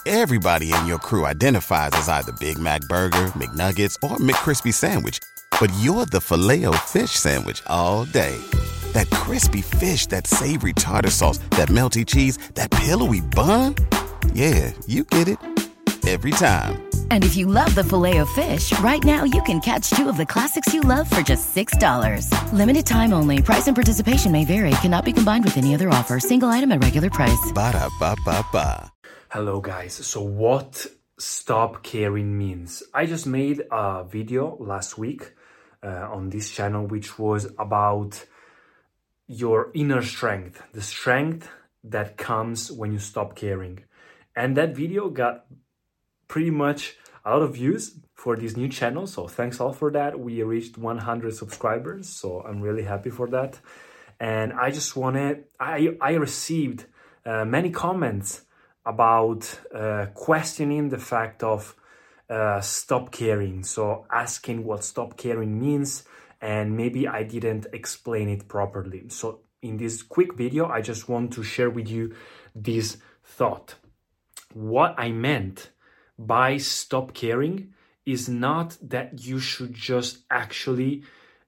Everybody in your crew identifies as either Big Mac Burger, McNuggets, or McCrispy Sandwich. But you're the Filet-O-Fish Sandwich all day. That crispy fish, that savory tartar sauce, that melty cheese, that pillowy bun. Yeah, you get it. Every time. And if you love the Filet-O-Fish, right now you can catch two of the classics you love for just $6. Limited time only. Price and participation may vary. Cannot be combined with any other offer. Single item at regular price. Ba-da-ba-ba-ba. Hello guys, so what stop caring means. I just made a video last week on this channel which was about your inner strength, the strength that comes when you stop caring. And that video got pretty much a lot of views for this new channel, so thanks all for that. We reached 100 subscribers, so I'm really happy for that. And I just I received many comments about questioning the fact of stop caring. So asking what stop caring means, and maybe I didn't explain it properly. So in this quick video, I just want to share with you this thought. What I meant by stop caring is not that you should just actually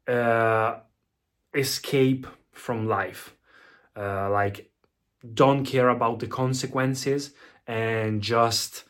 escape from life. Like, don't care about the consequences and just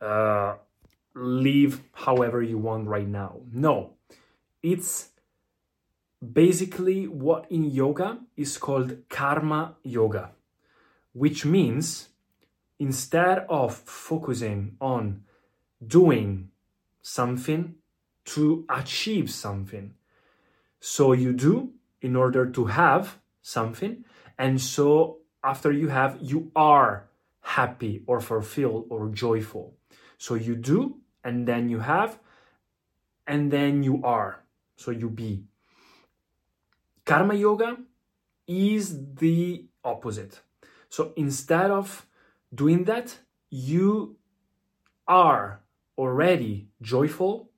live however you want right now. No, it's basically what in yoga is called karma yoga, which means instead of focusing on doing something to achieve something, so you do in order to have something, and so after you have, you are happy or fulfilled or joyful. So you do, and then you have, and then you are. So you be. Karma yoga is the opposite. So instead of doing that, you are already joyful.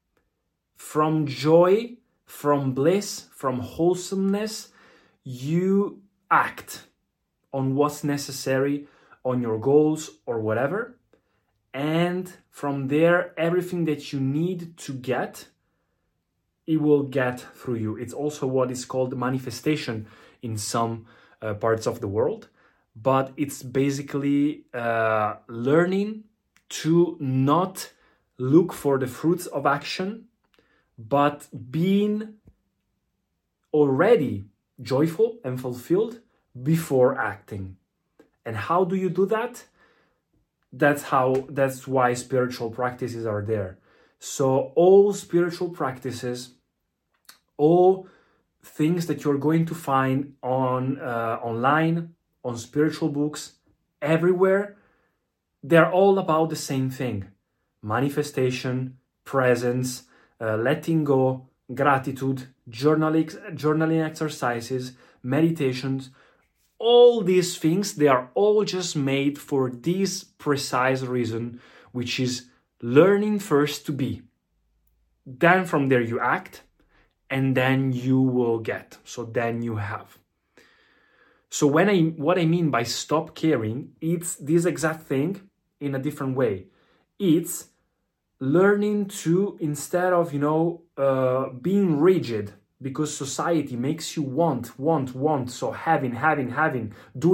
From joy, from bliss, from wholesomeness, you act on what's necessary, on your goals or whatever. And from there, everything that you need to get, it will get through you. It's also what is called manifestation in some parts of the world. But it's basically learning to not look for the fruits of action, but being already joyful and fulfilled before acting. And how do you do that? That's why spiritual practices are there. So all spiritual practices, all things that you're going to find on online, on spiritual books, everywhere, they're all about the same thing: manifestation, presence, letting go, gratitude, journaling exercises, meditations. All these things, they are all just made for this precise reason, which is learning first to be. Then from there you act, and then you will get. So then you have. So what I mean by stop caring, it's this exact thing in a different way. It's learning to, instead of, being rigid, because society makes you want. So having,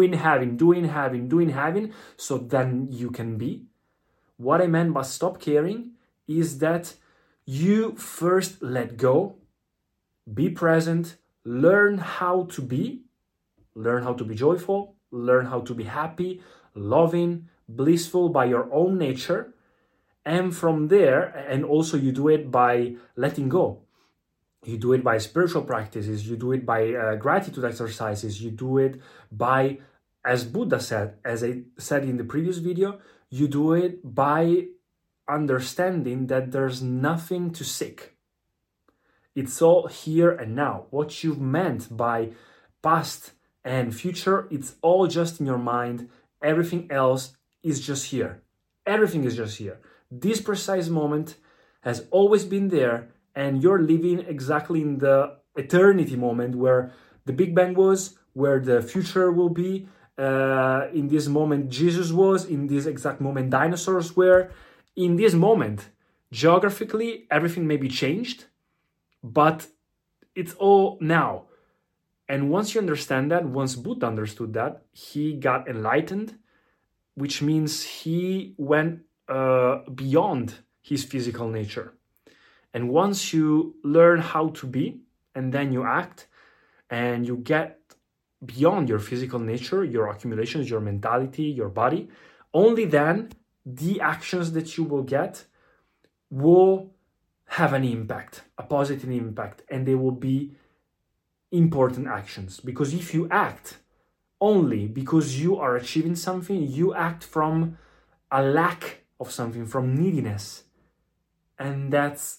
doing, so then you can be. What I meant by stop caring is that you first let go, be present, learn how to be joyful, learn how to be happy, loving, blissful by your own nature. And from there, and also you do it by letting go. You do it by spiritual practices. You do it by gratitude exercises. You do it by, as Buddha said, as I said in the previous video, you do it by understanding that there's nothing to seek. It's all here and now. What you've meant by past and future, it's all just in your mind. Everything else is just here. Everything is just here. This precise moment has always been there, and you're living exactly in the eternity moment where the Big Bang was, where the future will be, in this moment Jesus was, in this exact moment dinosaurs were. In this moment, geographically, everything may be changed, but it's all now. And once you understand that, once Buddha understood that, he got enlightened, which means he went beyond his physical nature. And once you learn how to be, and then you act, and you get beyond your physical nature, your accumulations, your mentality, your body, only then the actions that you will get will have an impact, a positive impact, and they will be important actions. Because if you act only because you are achieving something, you act from a lack of something, from neediness, and that's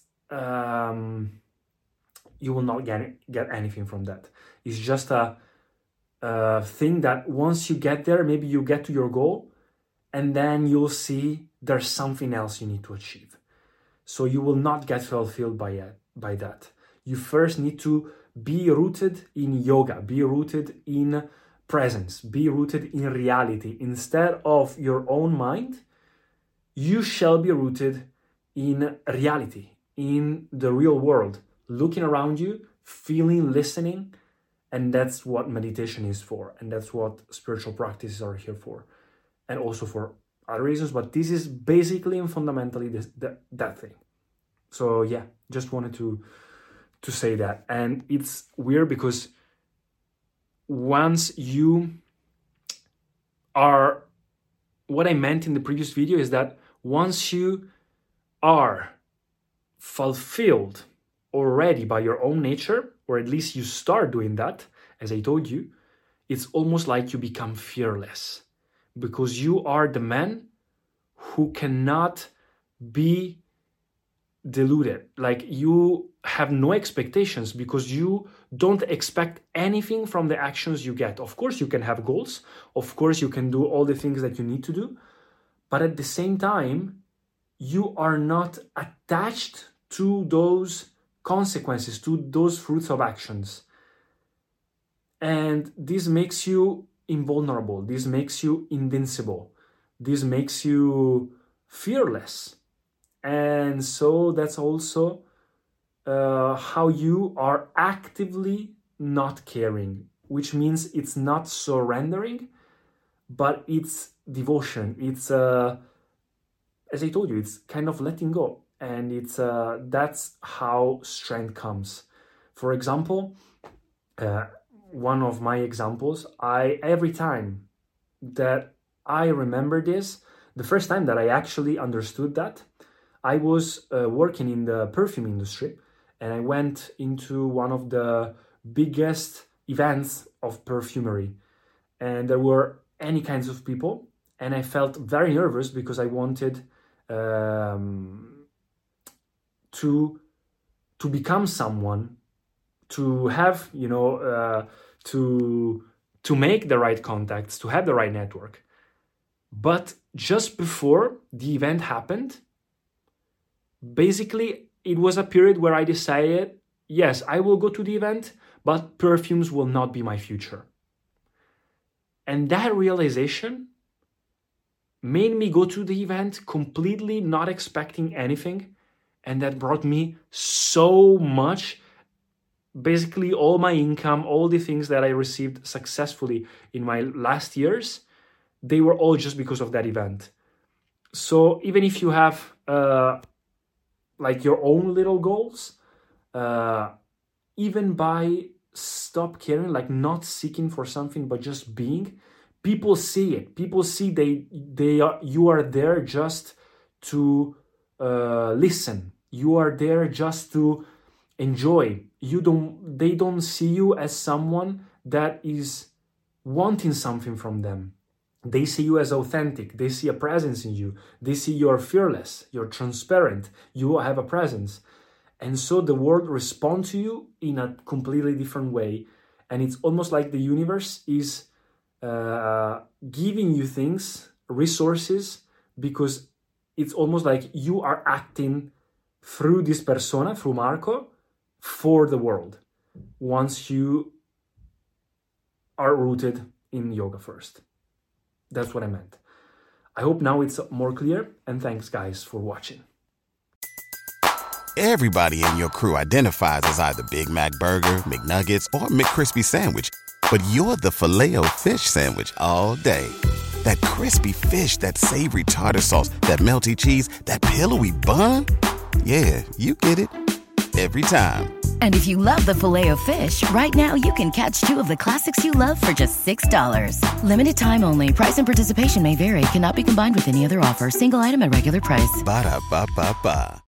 you will not get anything from that. It's just a thing that once you get there, maybe you get to your goal, and then you'll see there's something else you need to achieve. So you will not get fulfilled by that. You first need to be rooted in yoga, be rooted in presence, be rooted in reality. Instead of your own mind, you shall be rooted in reality, in the real world, looking around you, feeling, listening. And that's what meditation is for. And that's what spiritual practices are here for. And also for other reasons. But this is basically and fundamentally that thing. So yeah, just wanted to say that. And it's weird because once you are, what I meant in the previous video is that once you are fulfilled already by your own nature, or at least you start doing that, as I told you, it's almost like you become fearless because you are the man who cannot be deluded. Like you have no expectations because you don't expect anything from the actions you get. Of course, you can have goals. Of course, you can do all the things that you need to do. But at the same time, you are not attached to those consequences, to those fruits of actions. And this makes you invulnerable. This makes you invincible. This makes you fearless. And so that's also how you are actively not caring, which means it's not surrendering, but it's devotion. It's, as I told you, it's kind of letting go. And it's that's how strength comes. For example, one of my examples, every time that I remember this, the first time that I actually understood that, I was working in the perfume industry, and I went into one of the biggest events of perfumery, and there were any kinds of people, and I felt very nervous because I wanted to become someone, to have, to make the right contacts, to have the right network. But just before the event happened, basically it was a period where I decided, yes, I will go to the event, but perfumes will not be my future. And that realization made me go to the event completely not expecting anything. And that brought me so much, basically all my income, all the things that I received successfully in my last years, they were all just because of that event. So even if you have like your own little goals, even by stop caring, like not seeking for something, but just being, people see it. People see you are there just to listen. You are there just to enjoy. They don't see you as someone that is wanting something from them. They see you as authentic. They see a presence in you. They see you're fearless. You're transparent. You have a presence. And so the world responds to you in a completely different way. And it's almost like the universe is giving you things, resources, because it's almost like you are acting through this persona, through Marco, for the world, once you are rooted in yoga first. That's what I meant. I hope now it's more clear, and thanks guys for watching. Everybody in your crew identifies as either Big Mac Burger, McNuggets, or McCrispy Sandwich. But you're the Filet-O-Fish Sandwich all day. That crispy fish, that savory tartar sauce, that melty cheese, that pillowy bun. Yeah, you get it. Every time. And if you love the Filet-O-Fish, right now you can catch 2 of the classics you love for just $6. Limited time only. Price and participation may vary. Cannot be combined with any other offer. Single item at regular price. Ba-da-ba-ba-ba.